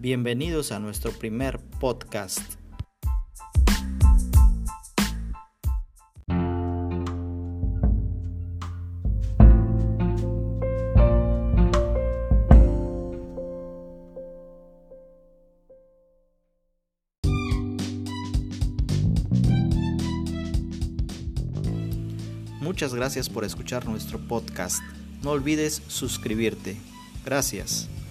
Bienvenidos a nuestro primer podcast. Muchas gracias por escuchar nuestro podcast. No olvides suscribirte. Gracias.